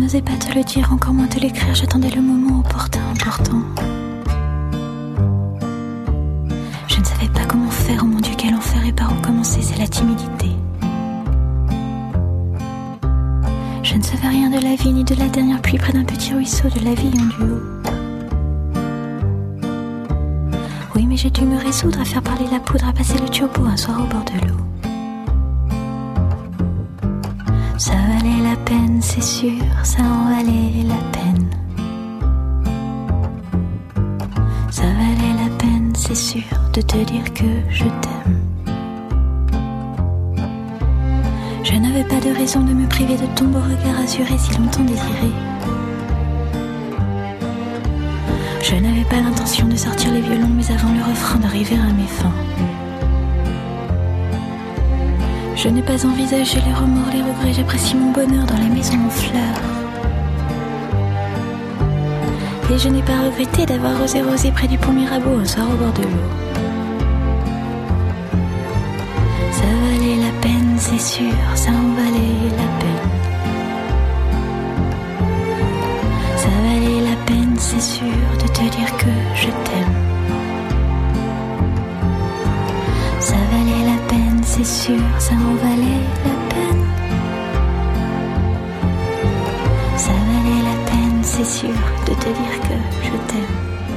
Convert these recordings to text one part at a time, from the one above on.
n'osais pas te le dire, encore moins te l'écrire. J'attendais le moment opportun, important. Je ne savais pas comment faire, oh mon Dieu, quel enfer, et par où commencer, c'est la timidité. Je ne savais rien de la vie, ni de la dernière pluie près d'un petit ruisseau, de la vie en duo. Oui, mais j'ai dû me résoudre à faire parler la poudre, à passer le turbo un soir au bord de l'eau. Ça valait la peine, c'est sûr, ça en valait la peine. Ça valait la peine, c'est sûr, de te dire que je t'aime. Je n'avais pas de raison de me priver de ton beau regard assuré si longtemps désiré. Je n'avais pas l'intention de sortir les violons, mais avant le refrain d'arriver à mes fins. Je n'ai pas envisagé les remords, les regrets, j'apprécie mon bonheur dans la maison en fleurs. Et je n'ai pas regretté d'avoir rosé près du pont Mirabeau un soir au bord de l'eau. Ça valait la peine, c'est sûr, ça en valait la peine. Ça valait la peine, c'est sûr, de te dire que je t'aime. Ça valait la peine, c'est sûr, ça en valait la peine. Ça valait la peine, c'est sûr, de te dire que je t'aime.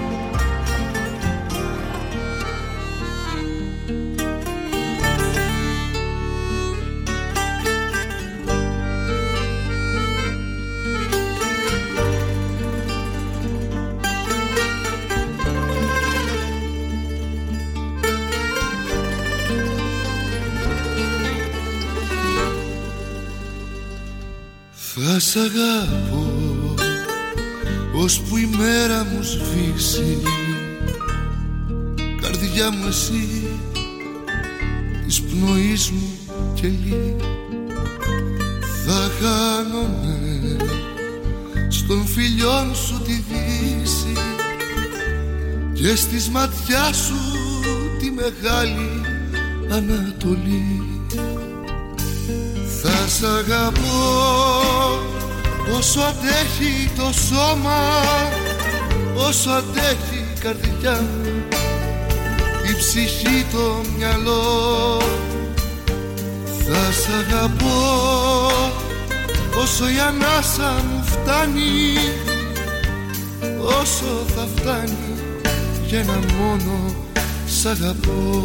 Θα σ' αγάπω ώσπου η μέρα μου σβήσει. Καρδιά μου εσύ της πνοής μου κελί. Θα χάνομαι στον φιλιόν σου τη δύση και στις ματιά σου τη μεγάλη Ανατολή. Θα σ' αγαπώ όσο αντέχει το σώμα, όσο αντέχει η καρδιά μου, η ψυχή, το μυαλό. Θα σ' αγαπώ όσο η ανάσα μου φτάνει, όσο θα φτάνει για ένα μόνο σ' αγαπώ.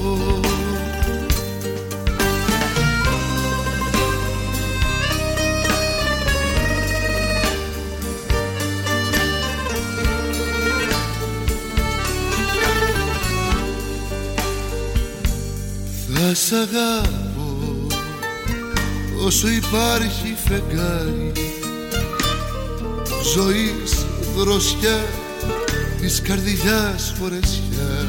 Θα σ' αγάπω όσο υπάρχει φεγγάρι ζωής δροσιά, της καρδιάς φορεσιά.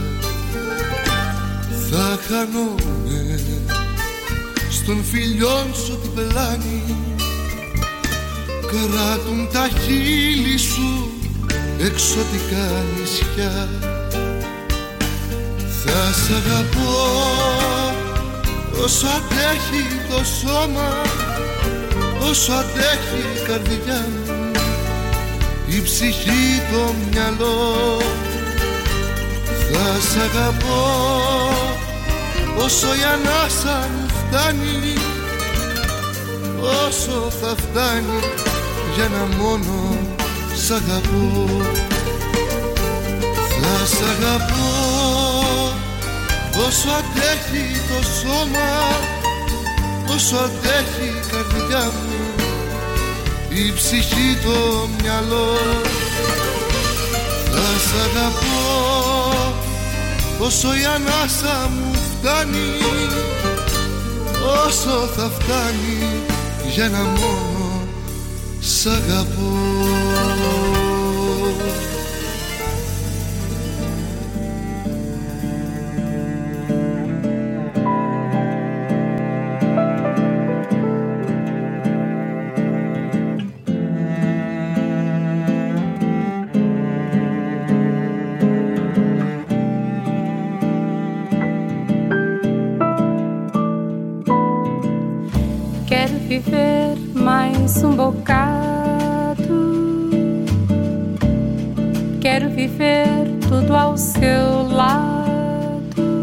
Θα χανόμαι στον φιλιόν σου την πελάνη, κράτουν τα χείλη σου εξωτικά νησιά. Θα σ' αγαπώ όσο αντέχει το σώμα, όσο αντέχει η καρδιά μου, η ψυχή, το μυαλό. Θα σ' αγαπώ όσο η ανάσα μου φτάνει, όσο θα φτάνει για ένα μόνο σ' αγαπώ. Θα σ' αγαπώ όσο αντέχει το σώμα, όσο αντέχει η καρδιά μου, η ψυχή, το μυαλό. Θα σ' αγαπώ όσο η ανάσα μου φτάνει, όσο θα φτάνει για ένα μόνο σ' αγαπώ. Viver mais bocado Quero viver tudo ao seu lado.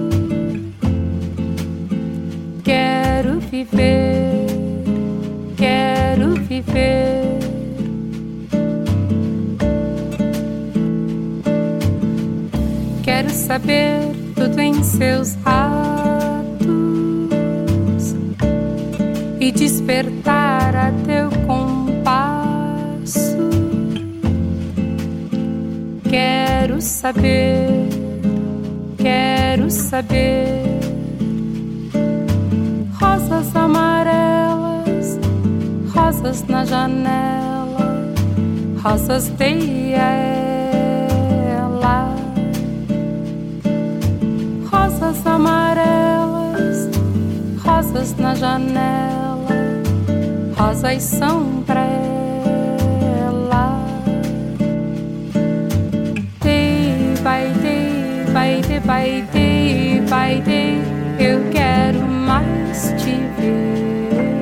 Quero viver, quero viver. Quero saber tudo em seus atos e despertar a teu compasso. Quero saber, quero saber. Rosas amarelas, rosas na janela, rosas de ela. Rosas amarelas, rosas na janela, rosas são pra ela. Day by day, by day by day, by day, eu quero mais te ver.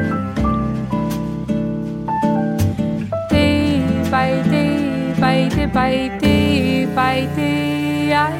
Day by day, by day by day, by day, ai.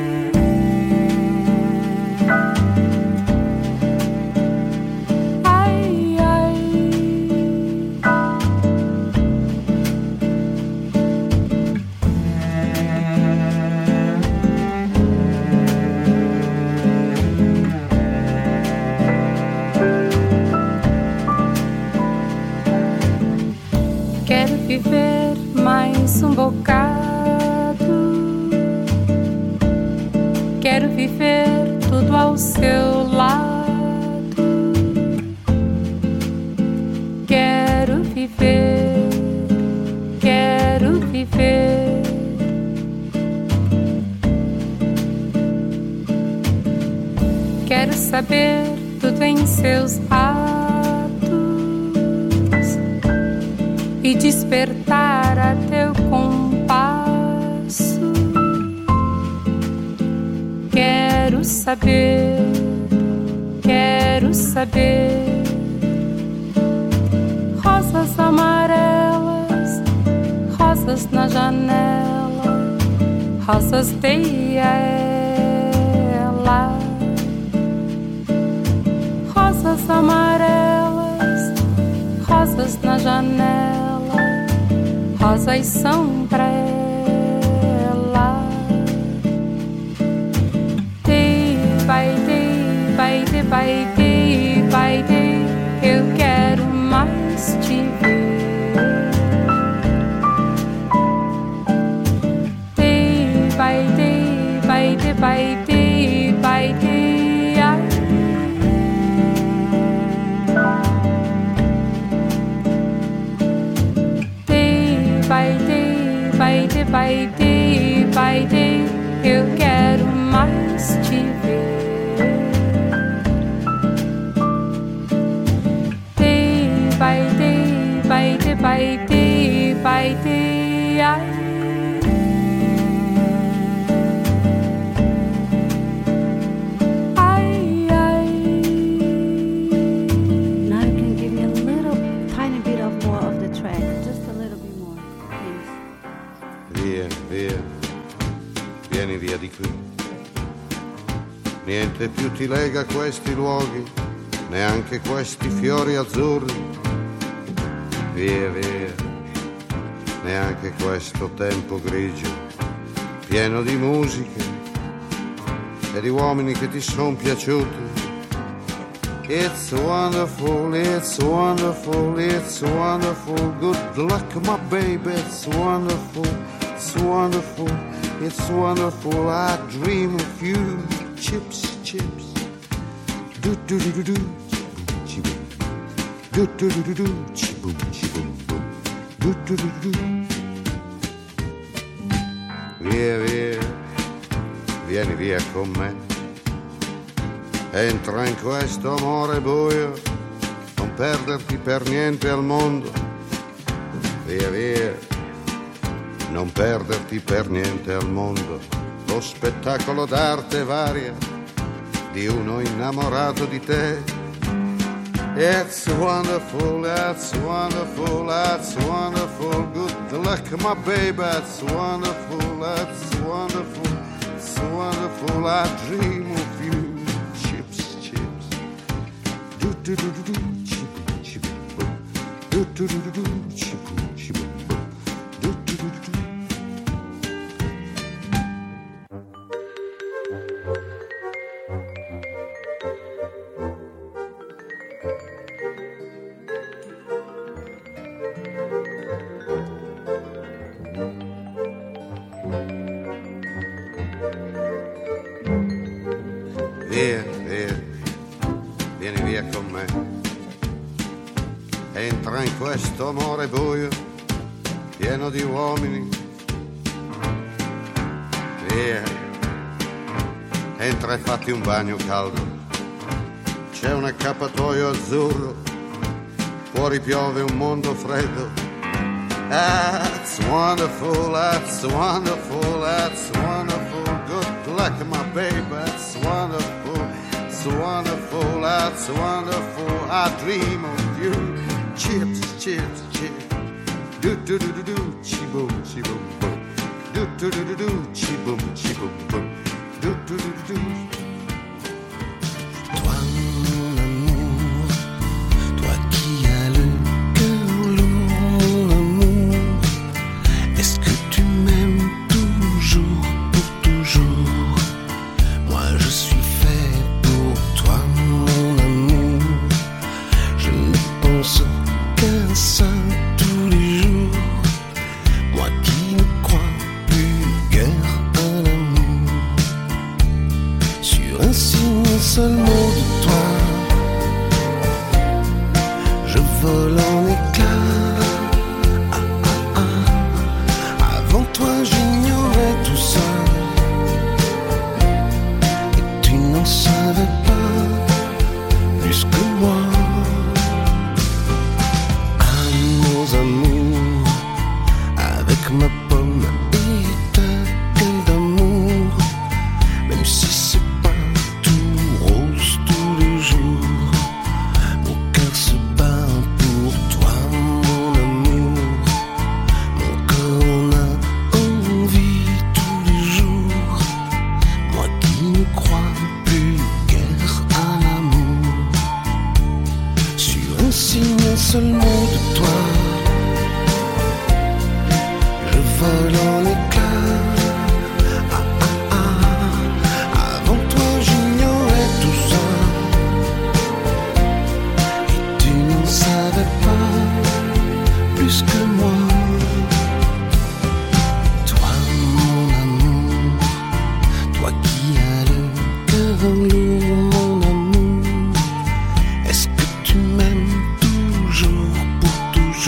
Viver mais um bocado. Quero viver tudo ao seu lado. Quero viver, quero viver. Quero saber tudo em seus atos e despertar a teu compasso. Quero saber, quero saber. Rosas amarelas, rosas na janela, rosas de ela. Rosas amarelas, rosas na janela, rosas são pra ela. Day by day, by day by day, by day, eu quero mais te ver. Day by day, by day by day, by day, ai. By day, by day, by day, by day, eu quero mais te ver. Day by day, by day, by day, by day, ai. Vieni via di qui. Niente più ti lega a questi luoghi, neanche questi fiori azzurri. Via, via, neanche questo tempo grigio, pieno di musiche e di uomini che ti son piaciuti. It's wonderful, it's wonderful, it's wonderful. Good luck, my baby, it's wonderful, it's wonderful. It's wonderful, I dream of you. Chips, chips. Do do do do do. Chi-boom. Do do do do do. Chi-boom, chi-boom, boom. Do do do do do. Via, via. Vieni via con me. Entra in questo amore buio. Non perderti per niente al mondo. Via, via. Non perderti per niente al mondo lo spettacolo d'arte varia di uno innamorato di te. It's wonderful, it's wonderful, it's wonderful. Good luck, my baby, it's wonderful, it's wonderful, it's wonderful. I dream of you. Chips, chips. Do do do do do. Chip, chip, boom. Do do do do do. Chip, chip, boom. Do do do do do. Via, via, vieni via con me. Entra in questo amore buio, pieno di uomini. Via, entra e fatti un bagno caldo. C'è un accappatoio azzurro, fuori piove un mondo freddo. That's wonderful, that's wonderful, that's wonderful. Good luck, my baby, that's wonderful, it's wonderful, that's wonderful. I dream of you. Chips, chips, chips. Do do do do do, chi boom, boom. Do do do do do, chi boom, boom. Do do do do do. Toi, mon amour, toi qui as le cœur lourd, mon amour, est-ce que tu m'aimes toujours, pour toujours? Moi je suis fait pour toi, mon amour. Je ne pense qu'à ça tous les jours. Moi qui ne crois plus guère à l'amour. Sur un signe, un seul mot de toi, je vole en éclats. Ah, ah, ah. Avant toi j'ignorais tout ça, et tu n'en savais pas plus que moi. Ah, nos amours, avec ma pomme et ta gueule d'amour, même si c'est pas tout rose tous les jours, mon cœur se bat pour toi, mon amour. Mon corps en a envie tous les jours. Moi qui ne crois plus guère à l'amour. Sur un signe, un seul mot de toi, je vole en éclats. Ah, ah, ah. Avant toi j'ignorais tout ça, et tu n'en savais pas plus que moi. Toi, mon amour, toi qui as le cœur lourd, mon amour, est-ce que tu m'aimes toujours, pour toujours?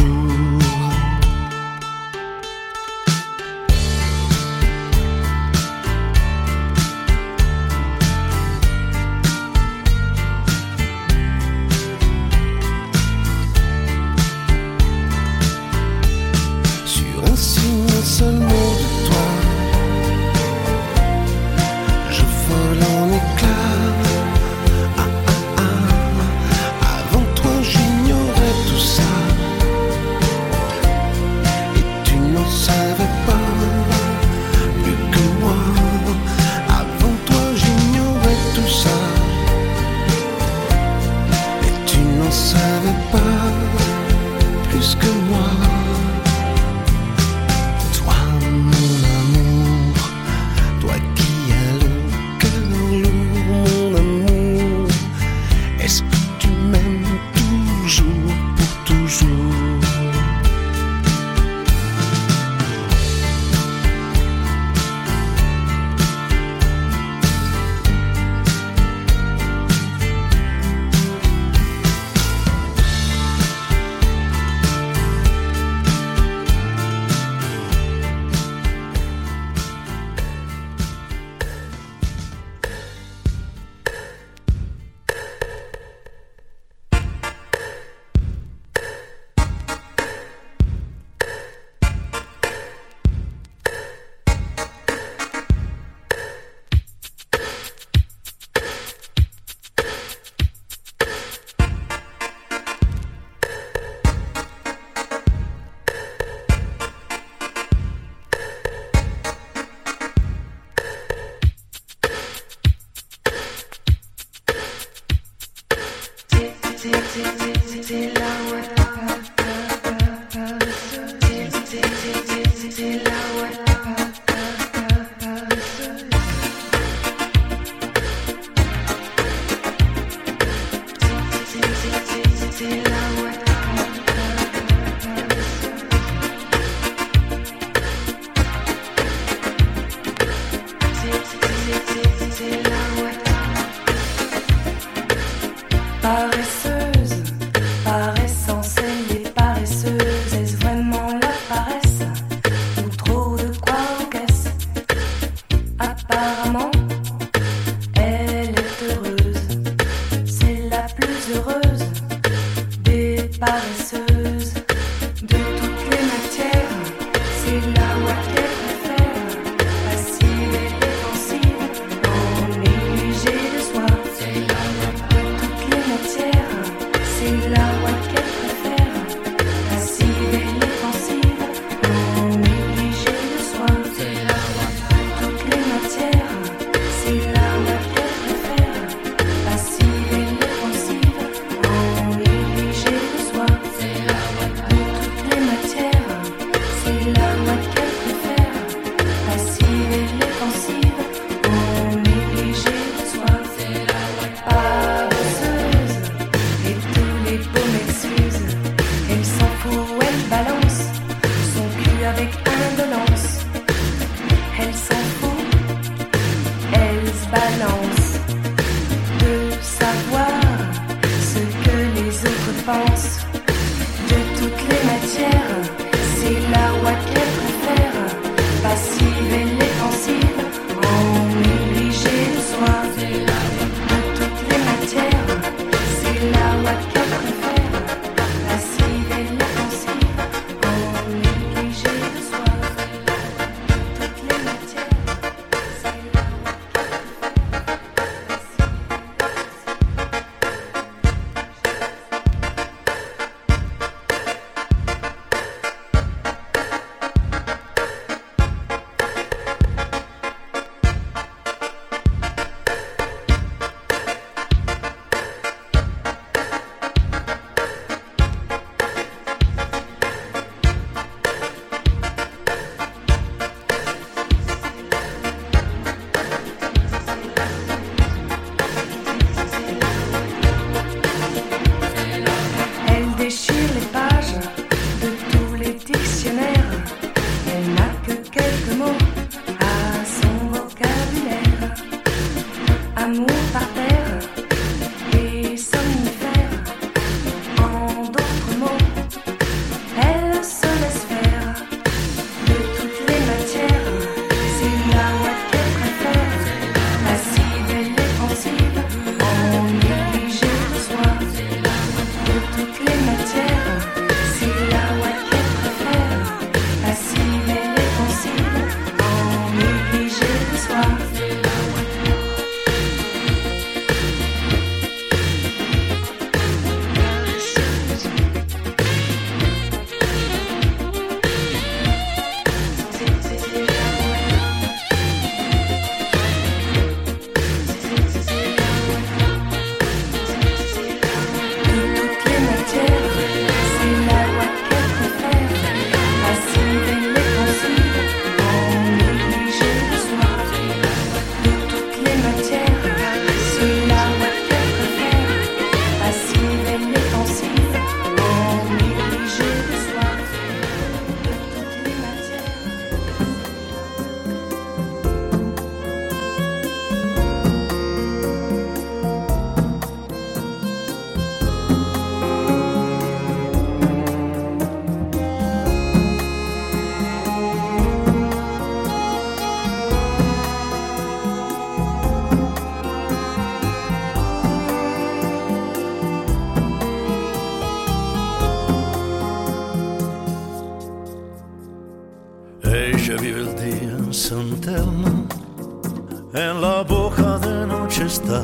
en la boca de noche está.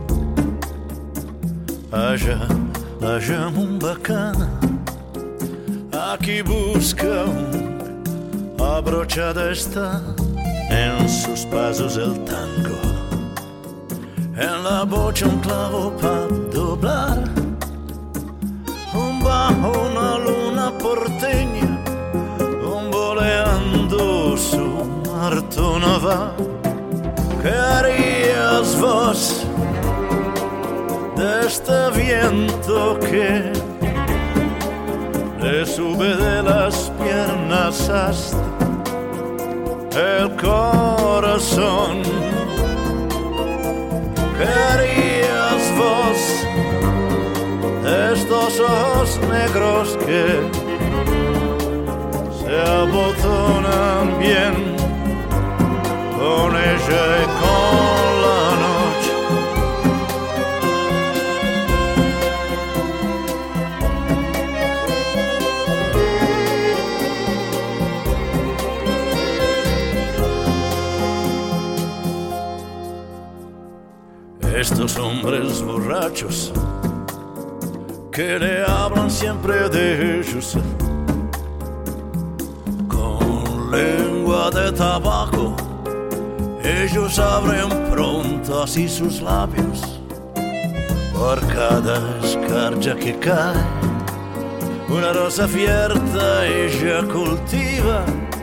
Allá la llama un bacana, aquí busca un abrochada está. En sus pasos el tango, en la bocha un clavo para doblar. bajo una luna porteña, bamboleando su marto naval. ¿Qué harías vos de este viento que le sube de las piernas hasta el corazón? ¿Qué harías vos de estos ojos negros que se abotonan bien con ella y con la noche? Estos hombres borrachos que le hablan siempre de ellos con lengua de tabaco, ellos abren pronto así sus labios. Por cada escarcha que cae, una rosa abierta ella cultiva,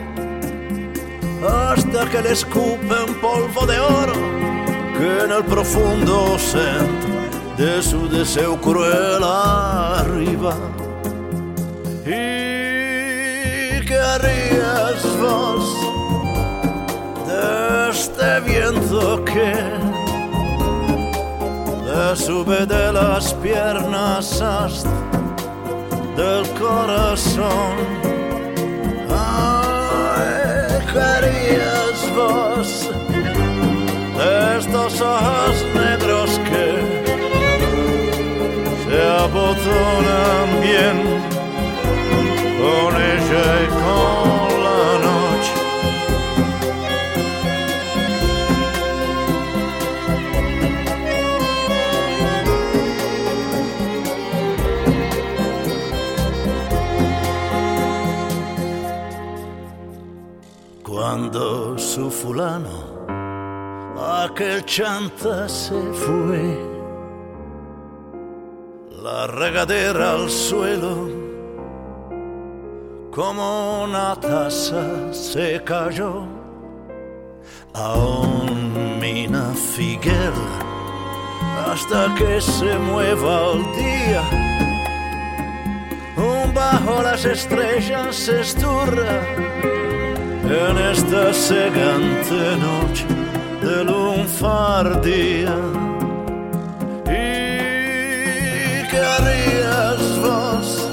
hasta que le escupen polvo de oro que en el profundo centro de su deseo cruel arriba. ¿Y qué harías vos de este viento que le sube de las piernas hasta del corazón? Ay, ¿qué harías vos de estos ojos negros que se abotonan bien con ella y con la noche? Cuando su fulano, aquel chanta, se fue, la regadera al suelo como una taza se cayó. Aún mina figuera hasta que se mueva el día, bajo las estrellas se esturra en esta cegante noche de lunfardía. ¿Y qué harías vos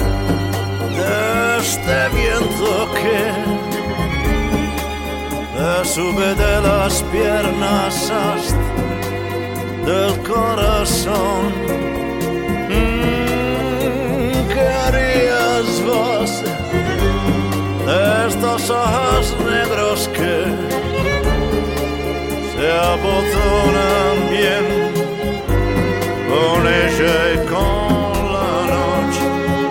de este viento que le sube de las piernas hasta del corazón? ¿Qué harías vos de estos ojos negros que se abotonan bien con ella y con la noche?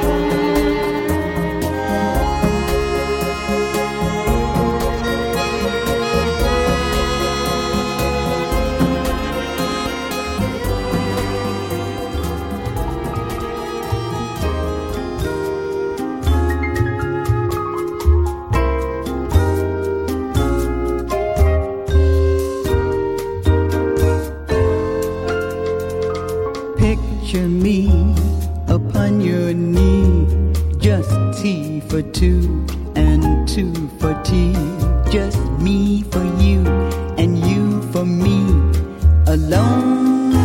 Picture me upon your knee, just tea for two and two for tea, just me for you and you for me alone.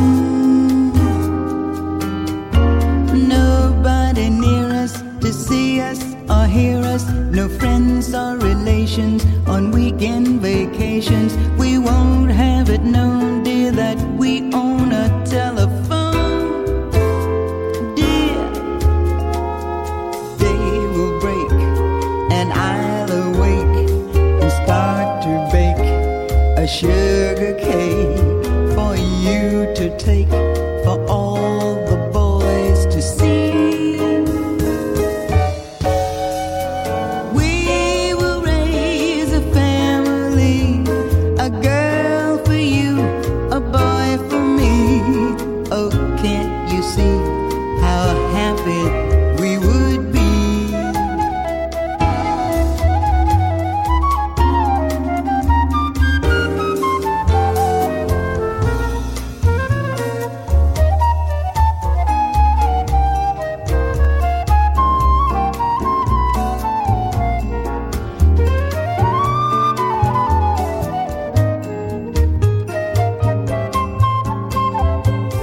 Nobody near us to see us or hear us, no friends or relations on weekend vacations. We won't have it known, dear, that we own a telephone. Sugar cake for you to take, for all the boys to see. We will raise a family, a girl for you, a boy for me. Oh, can't you see how happy we will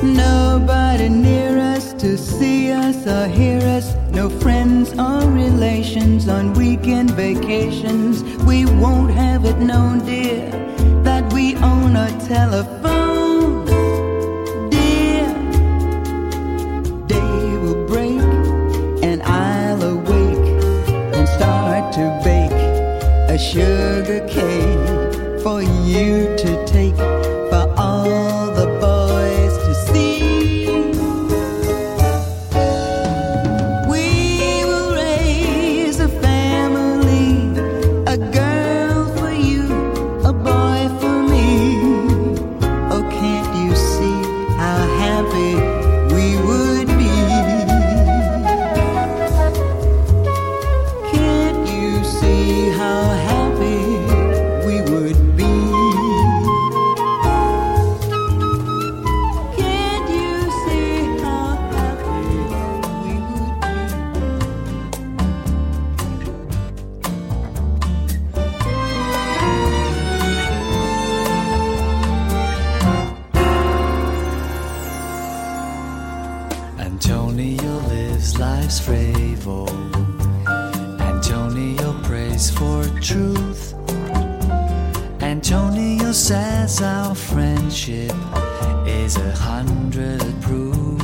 Nobody near us to see us or hear us. No friends or relations on weekend vacations. We won't have it known, dear, that we own a telephone. Dear, day will break and I'll awake and start to bake a sugar cake for you to take, for all the boys to see. We will raise a family, a girl for you, a boy for me. Oh, can't you see how happy we would be? Can't you see how happy we would be? Can't you see how happy we would be? Antonio lives life's fable. Antonio prays for truth. Antonio says our friendship is 100 proof.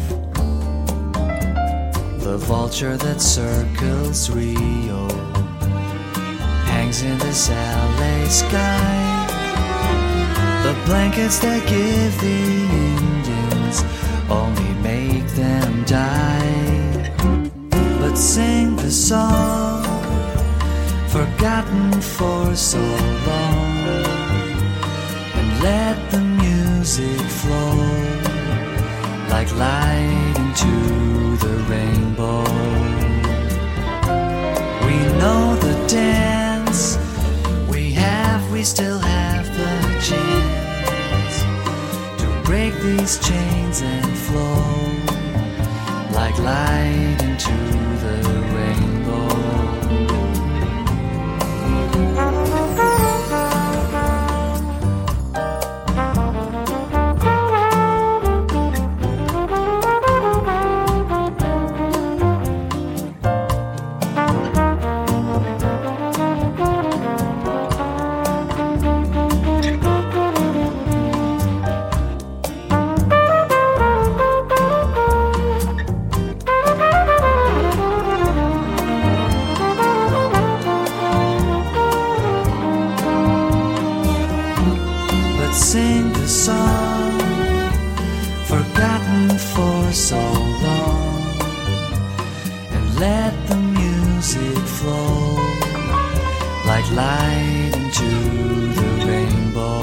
The vulture that circles Rio hangs in this LA sky. The blankets that give the Indians only make them die. But sing the song forgotten for so long, and let the music flow like light into the rainbow. We know the dance, we still have the chance to break these chains and flow like light into the rainbow. Sing the song forgotten for so long, and let the music flow like light into the rainbow.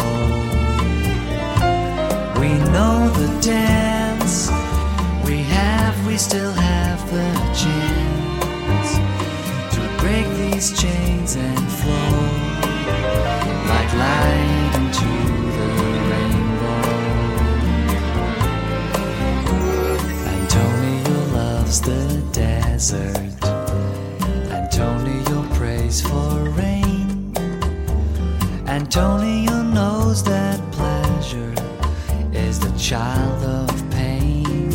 We know the dance, we still have the chance to break these chains and flow like light into the rainbow. Antonio loves the desert. Antonio prays for rain. Antonio knows that pleasure is the child of pain.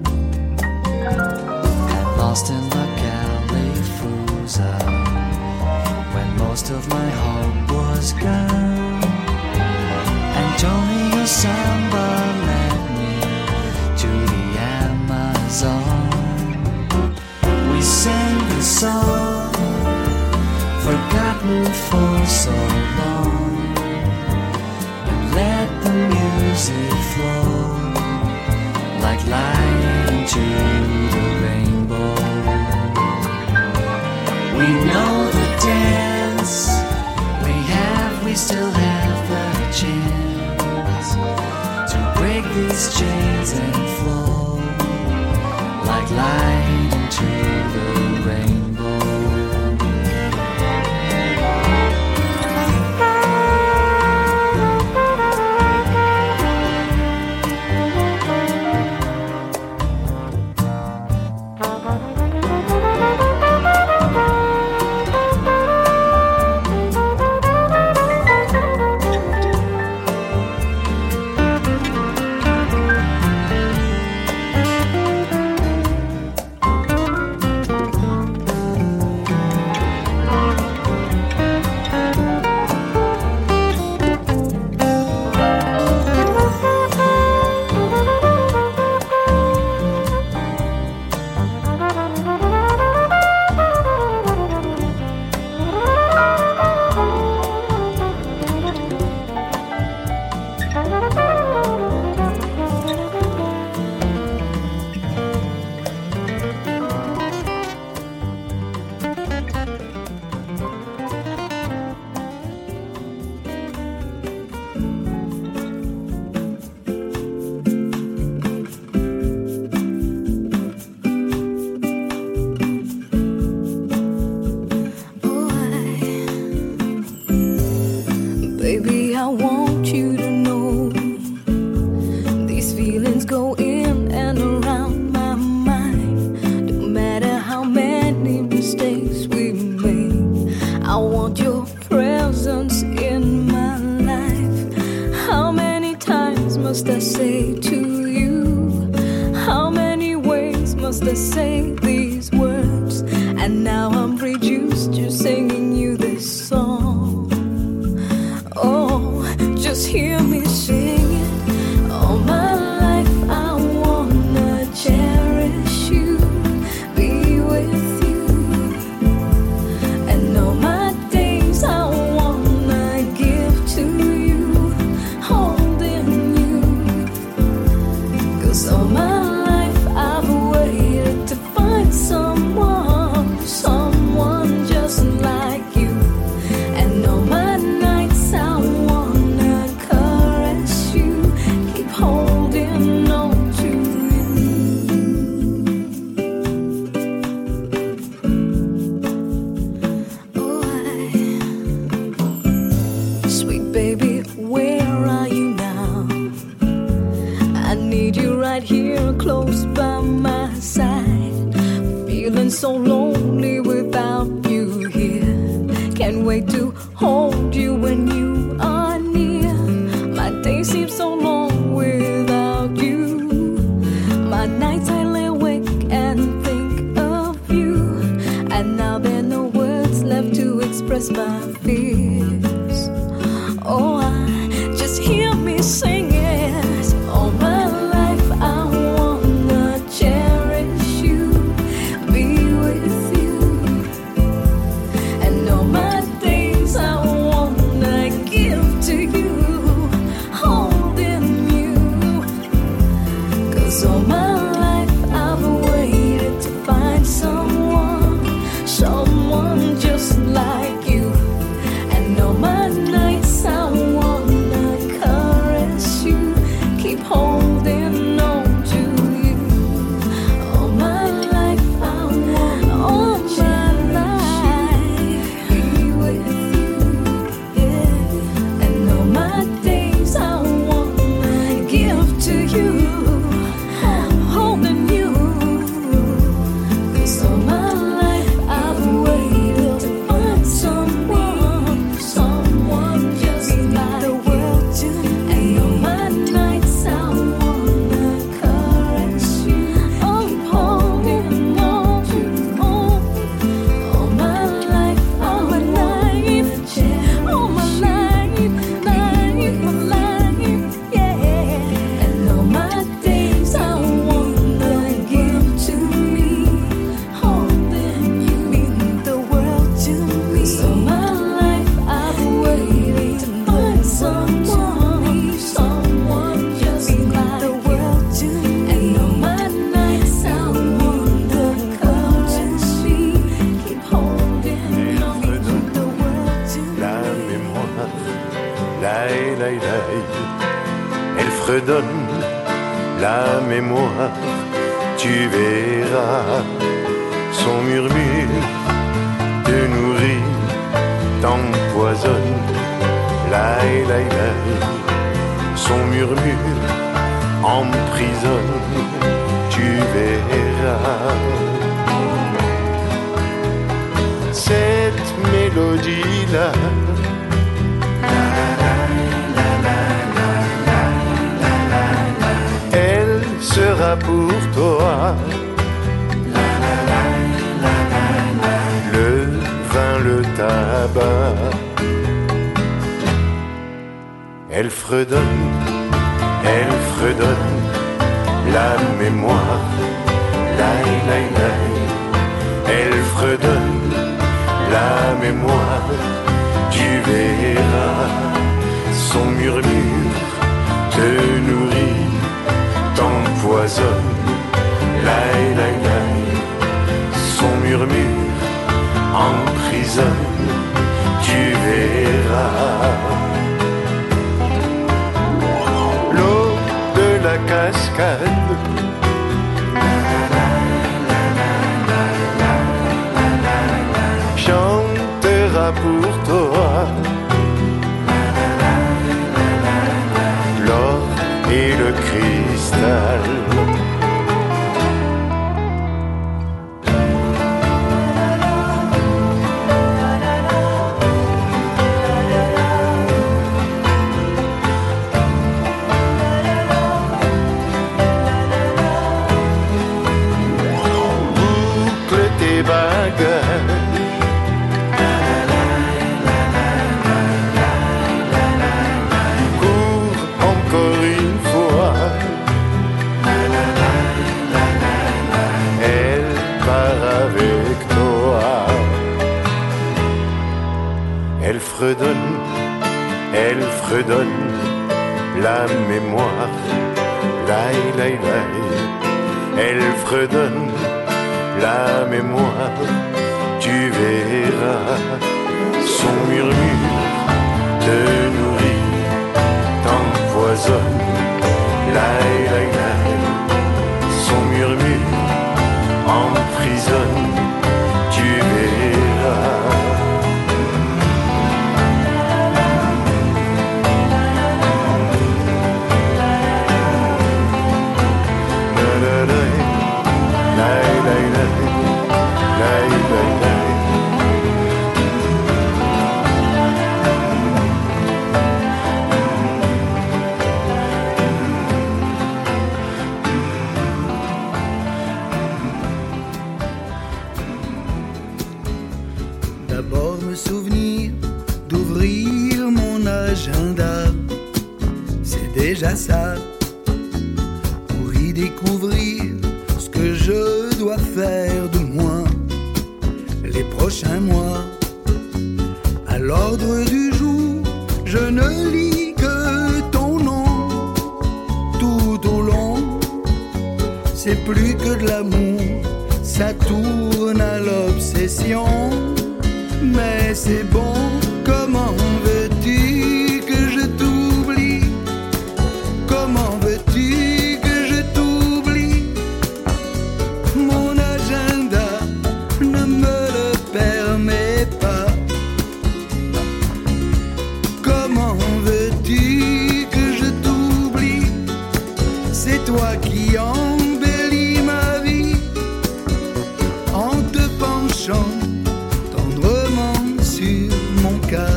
And lost in the Califusa, when most of my hope was gone, Antonio Samba led me to the Amazon. We sang the song forgotten for so long, and let the music flow like light into the rainbow. We know the dance, we still have the chance to break these chains and flow like light into the rainbow. used to say these words, and now I'm reduced to singing you this song. Oh, just hear me sing it. All my life I wanna cherish you, be with you, and all my days I wanna give to you, holding you, 'cause all my life I've waited to find someone, someone just like you, and all my nights I wanna caress you, keep holding on to you. Oh, sweet baby, where are you now? I need you right here, close by my side. Feeling so lonely without you here. Can't wait to hold you when you are near. My days seem so long without you. My nights I lay awake and think of you. And now there are no words left to express my fears. Oh, just hear me sing it. All my life I wanna cherish you, be with you, and all my days I wanna give to you, holding you, 'cause all my life I've waited to find someone, someone just like you, and all my nights I wanna caress you, keep holding on to you. All my life I wanna, all my life be with you, yeah, and all my days I wanna give to you, holding you, 'cause all my life I've waited to find someone, someone just like the world to me, and all my nights I wanna caress you, keep holding on to you. All my life, all my life, all my life, my life, yeah, and all my days I wanna give to me, holding you, mean the world to me. So my life I've waited to find someone, someone just like the world to me, and all my nights I wanna caress you, keep holding on to the world to me. La mémoire, elle fredonne la mémoire, tu verras son murmure te nourrit, t'empoisonne, son murmure emprisonne, tu verras. Cette mélodie-là, elle sera pour toi le vin, le tabac. Elle fredonne la mémoire, elle fredonne la mémoire, tu verras son murmure te nourrit, t'empoisonne, son murmure emprisonne, tu verras. L'eau de la cascade chantera pour toi l'or et le cristal. elle fredonne la mémoire. Laï, laï, laï, elle fredonne la mémoire. Tu verras son murmure te nourrit, t'empoisonne. Laï, laï, laï, son murmure emprisonne. Tu verras. D'abord me souvenir d'ouvrir mon agenda, c'est déjà ça, pour y découvrir ce que je dois faire de moi les prochains mois. À l'ordre du jour, je ne lis que ton nom tout au long. C'est plus que de l'amour, ça tourne à l'obsession. Mais c'est bon, comment veux-tu que je t'oublie? Comment veux-tu que je t'oublie? Mon agenda ne me le permet pas. Comment veux-tu que je t'oublie? C'est toi qui embellis ma vie en te penchant sur mon cas.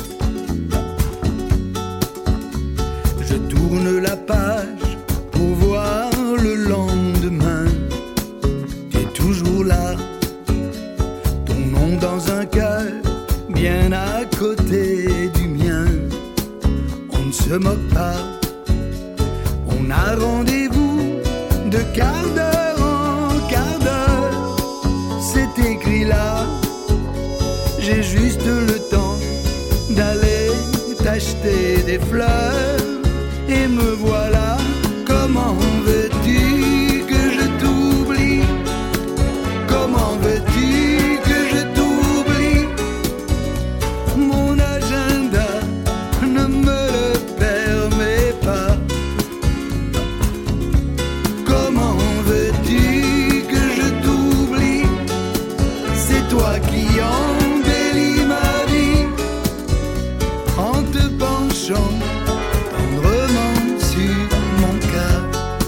Je tourne la page pour voir le lendemain. Tu es toujours là, ton nom dans un cœur bien à côté du mien. On ne se moque pas, on a rendez-vous de quart d'heure en quart d'heure. C'est écrit là. J'ai juste le temps d'aller t'acheter des fleurs. Et me voilà, comment veux-tu que je t'oublie? Comment veux-tu que je t'oublie? Mon agenda ne me le permet pas. Comment veux-tu que je t'oublie? C'est toi qui embellis ma vie en te penchant tendrement sur mon cas.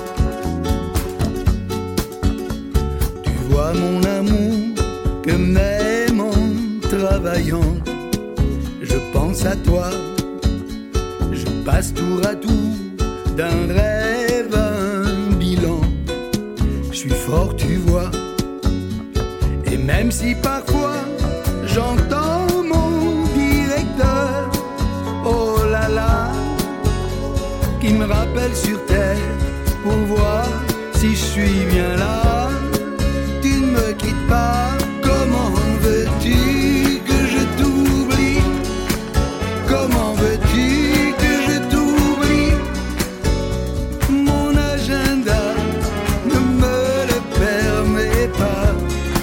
Tu vois mon amour que même en travaillant, je pense à toi. Je passe tour à tour d'un rêve à un bilan. Je suis fort, tu vois. Et même si parfois j'entends mon directeur, oh là là, qui me rappelle sur terre pour voir si je suis bien là. Tu ne me quittes pas, comment veux-tu que je t'oublie? Comment veux-tu que je t'oublie? Mon agenda ne me le permet pas.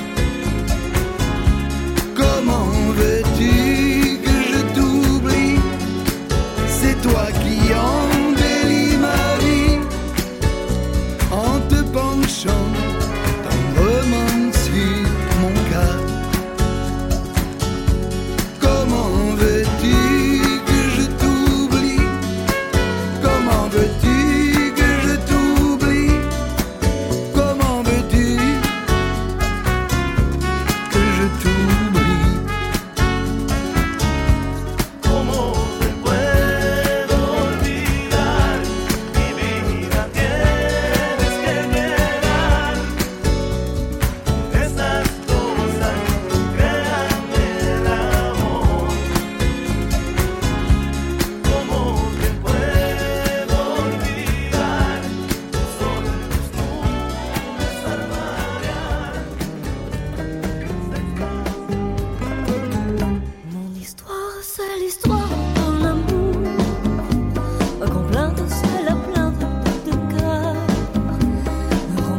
Comment veux-tu que je t'oublie? C'est toi qui embellis ma vie en te penchant tendrement sur mon cas. Comment veux-tu que je t'oublie? Comment veux-tu que je t'oublie? Comment veux-tu que je t'oublie? ¿Cómo te puedo olvidar? Mi vida tienes que llegar.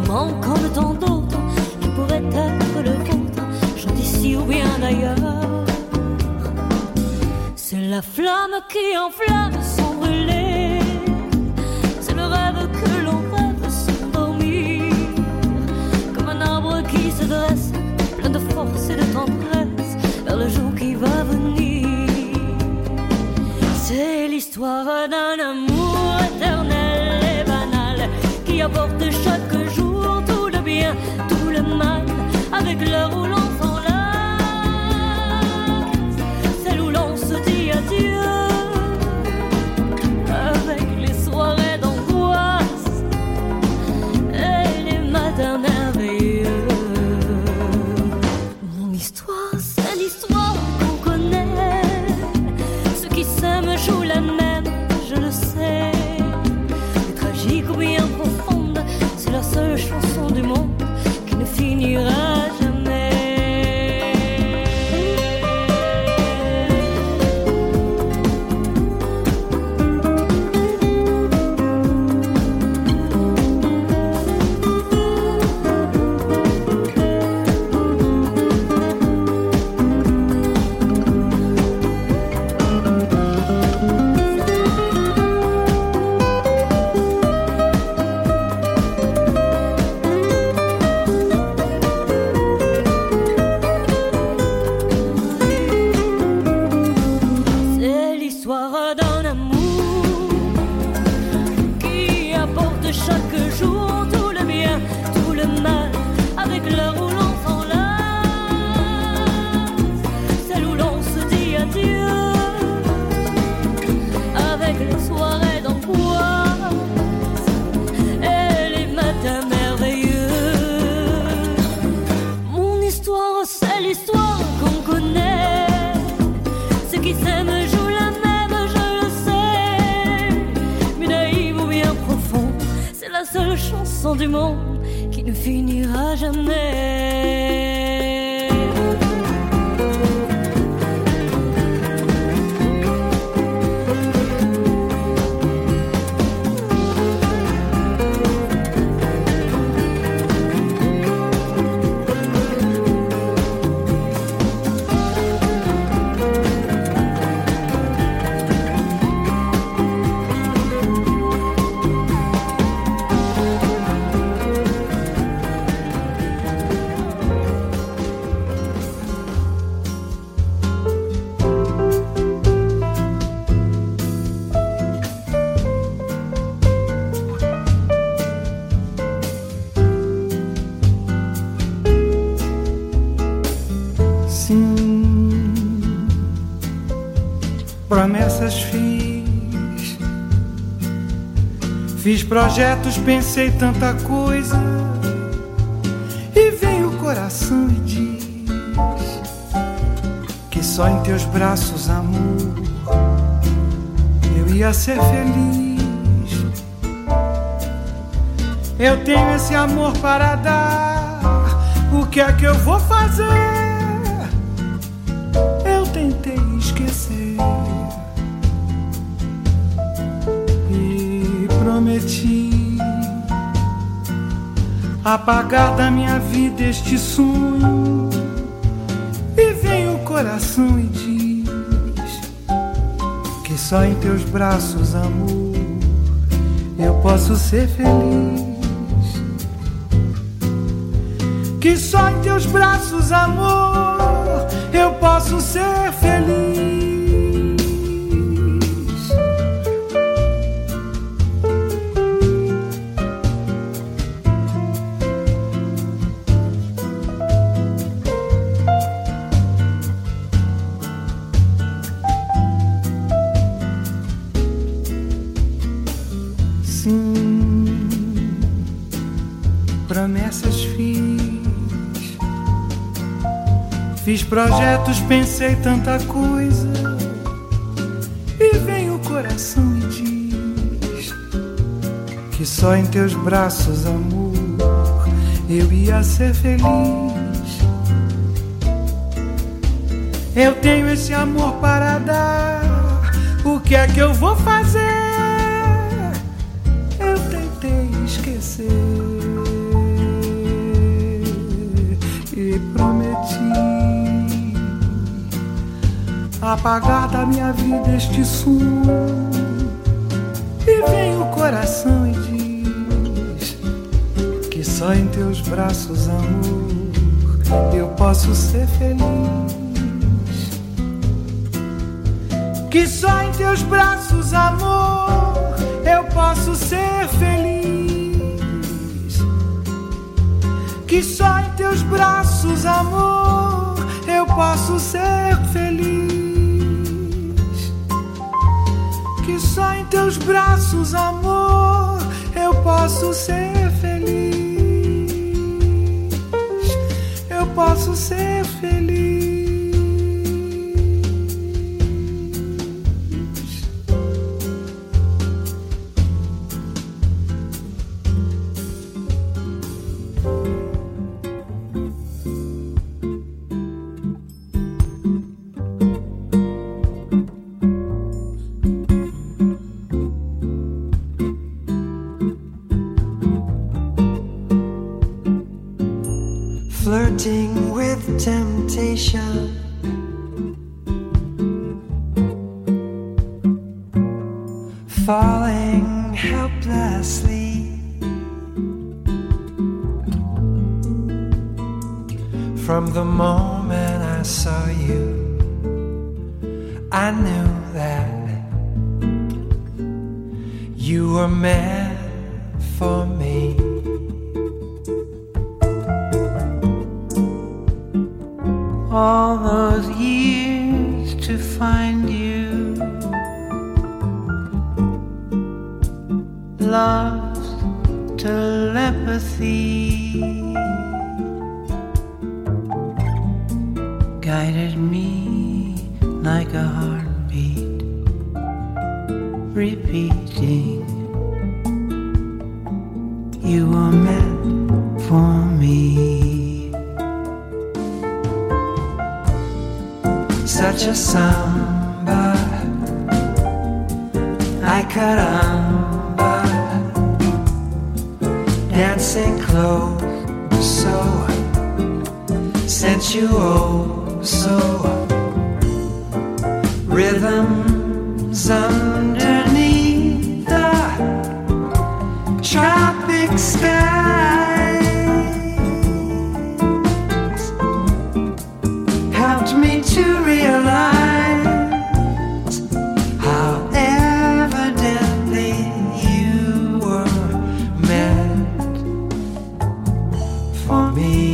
moment comme tant d'autres qui pourraient être le vôtre, chante ici ou bien d'ailleurs. C'est la flamme qui enflamme sans brûler, c'est le rêve que l'on rêve sans dormir, comme un arbre qui se dresse, plein de force et de tendresse, vers le jour qui va venir. C'est l'histoire d'un amour éternel et banal qui apporte chaque jour tout le bien, tout le mal, avec l'heure où l'on s'enlace, celle où l'on se dit adieu, avec les soirées d'angoisse et les matins merveilleux. Mon histoire, c'est l'histoire qu'on connaît, ceux qui s'aiment jouent la même, je le sais, mais tragique ou bien profonde, c'est la seule chanson du monde qui ne finira jamais. Du monde qui ne finira jamais. Promessas fiz projetos, pensei tanta coisa, e vem o coração e diz que só em teus braços, amor, eu ia ser feliz. Eu tenho esse amor para dar, o que é que eu vou fazer? Eu tentei esquecer e prometi apagar da minha vida este sonho, e vem o coração e diz que só em teus braços, amor, eu posso ser feliz. Que só em teus braços, amor, eu posso ser feliz. Promessas fiz projetos, pensei tanta coisa, e vem o coração e diz que só em teus braços, amor, eu ia ser feliz. Eu tenho esse amor para dar, o que é que eu vou fazer? Eu tentei esquecer apagar da minha vida este som. E vem o coração e diz que só em teus braços, amor, eu posso ser feliz. Que só em teus braços, amor, eu posso ser feliz. Que só em teus braços, amor, eu posso ser feliz. Que só em teus braços, amor, eu posso ser feliz. Eu posso ser feliz. Flirting with temptation, falling helplessly from the moment I saw you. I knew that you were meant for me. All those years to find you, lost telepathy guided me like a heartbeat, repeating, you were meant for me. Such a samba, I caramba, dancing close, so sensual, so rhythms underneath the tropic skies helped me to realize how evidently you were meant for me.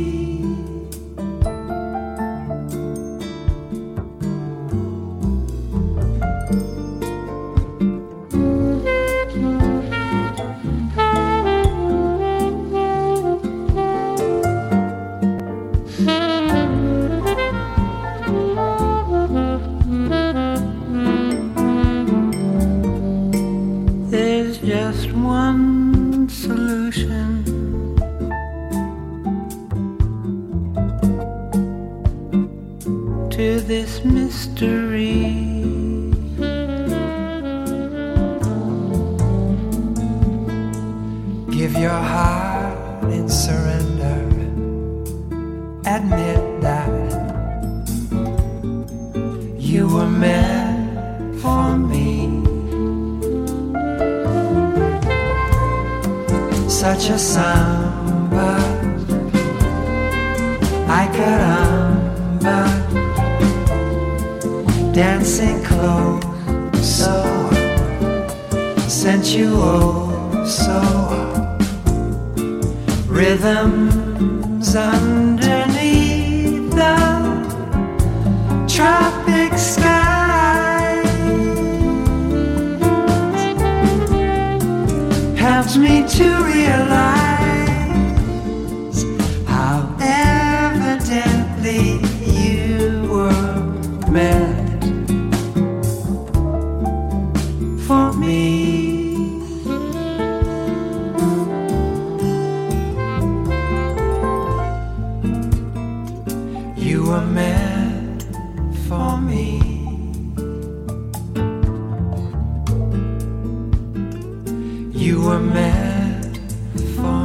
There's just one solution to this mystery. Give your heart in surrender. Admit that you were meant for me. Such a samba, I caramba, dancing close, so sensual, so rhythms underneath the tropic skies helps me to realize how evidently you were meant for me. You were meant for me. You were meant for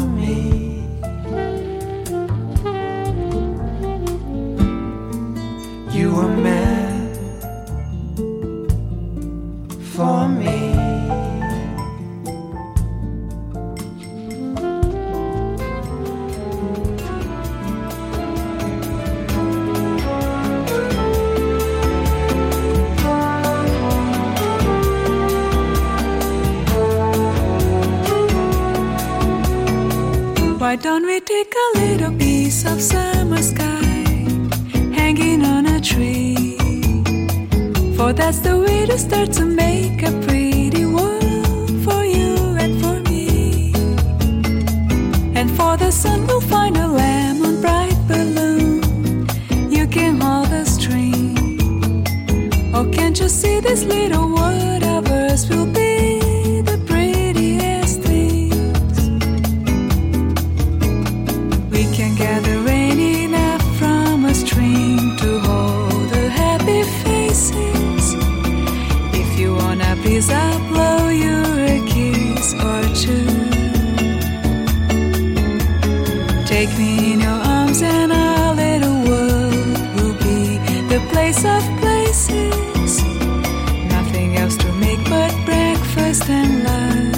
Why don't we take a little piece of summer sky hanging on a tree? For that's the way to start to make a pretty world for you and for me. And for the sun we'll find a lemon bright balloon. You can hold the string. Oh, can't you see this little world of ours will be the prettiest things? We can gather rain enough from a stream to hold the happy faces. If you wanna please, I'll blow you a kiss or two. Take me in your arms and our little world will be the place of places. Nothing else to make but breakfast and love.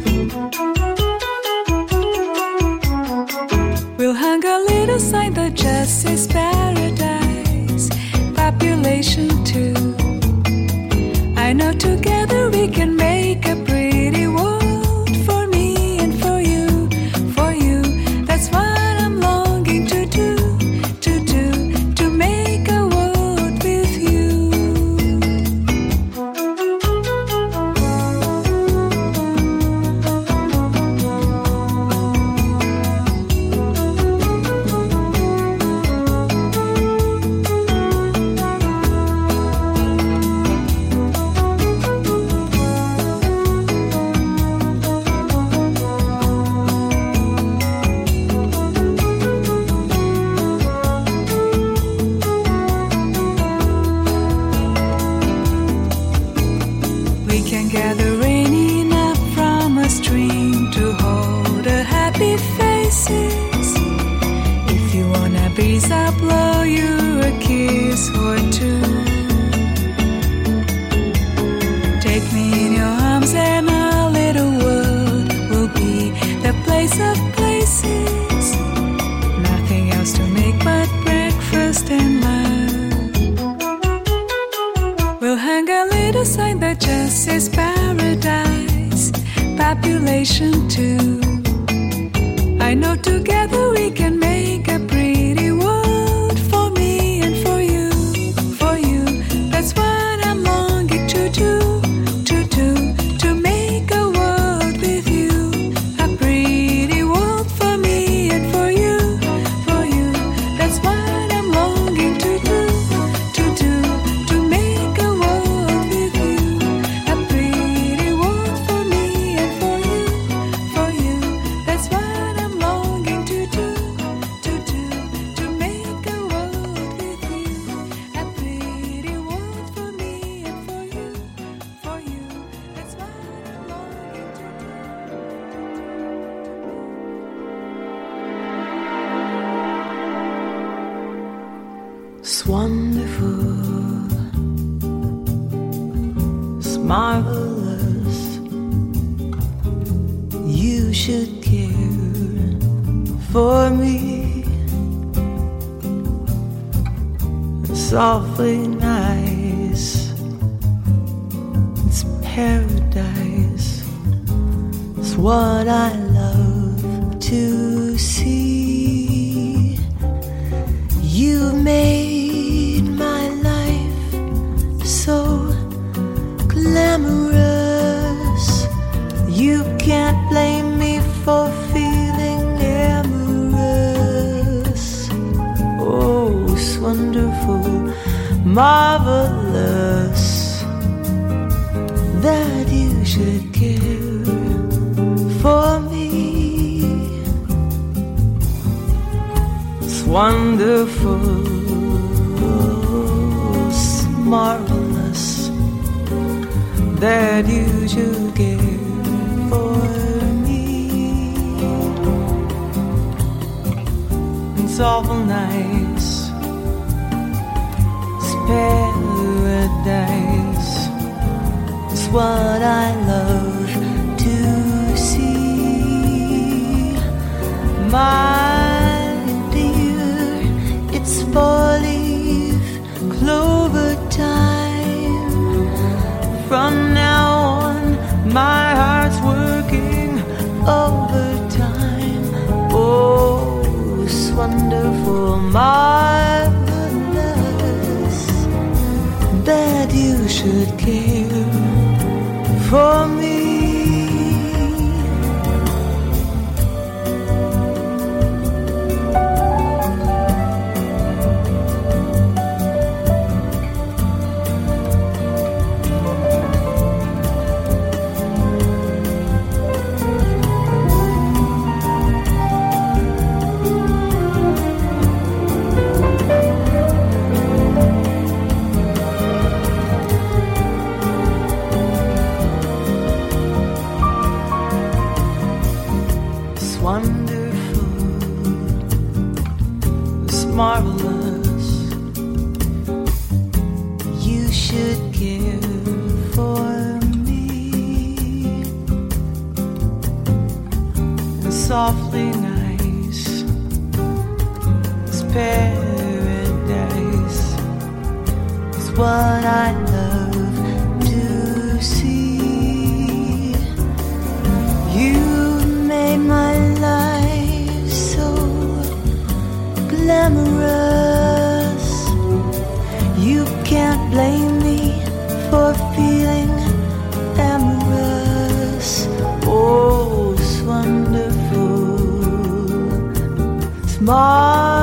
We'll hang a little sign that just says paradise, population 2. I know together we can make a pretty world for me and for you, for you. That's what I'm longing to do, to make a world with you. We can gather rain enough from a stream to hold the happy faces. If you wanna breeze, I'll blow you a kiss or two. Take me in your arms and our little world will be the place of places. Nothing else to make but breakfast and love. We'll hang a little sign that just says paradise, population 2. I know together we can make a pretty world for me and for you, for you. That's what I'm longing to do, to make a world with you. A pretty world for me and for you, for you. That's what I'm longing to do, to make a world with you. A pretty world for me and for you, for you. That's what I'm longing to do, to make a world with you. A pretty world for me and for you, for you. That's what I'm longing to do. It's wonderful, it's marvelous. You should care for me. It's awfully nice, it's paradise. It's what I love to see. You made my life so glamorous. You can't blame me for feeling amorous. Oh, it's wonderful, marvelous that you should care for me. It's wonderful, it's marvelous that you should care for me. It's awful nice, it's paradise. It's what I love to see. My dear, it's 4-leaf clover time. From now on, my heart's working overtime. Oh, should care for me. Marvelous, you should care for me. And softly nice, this paradise is what I love to see. You made my life so glamorous. You can't blame me for feeling amorous. Oh, it's wonderful. It's marvelous.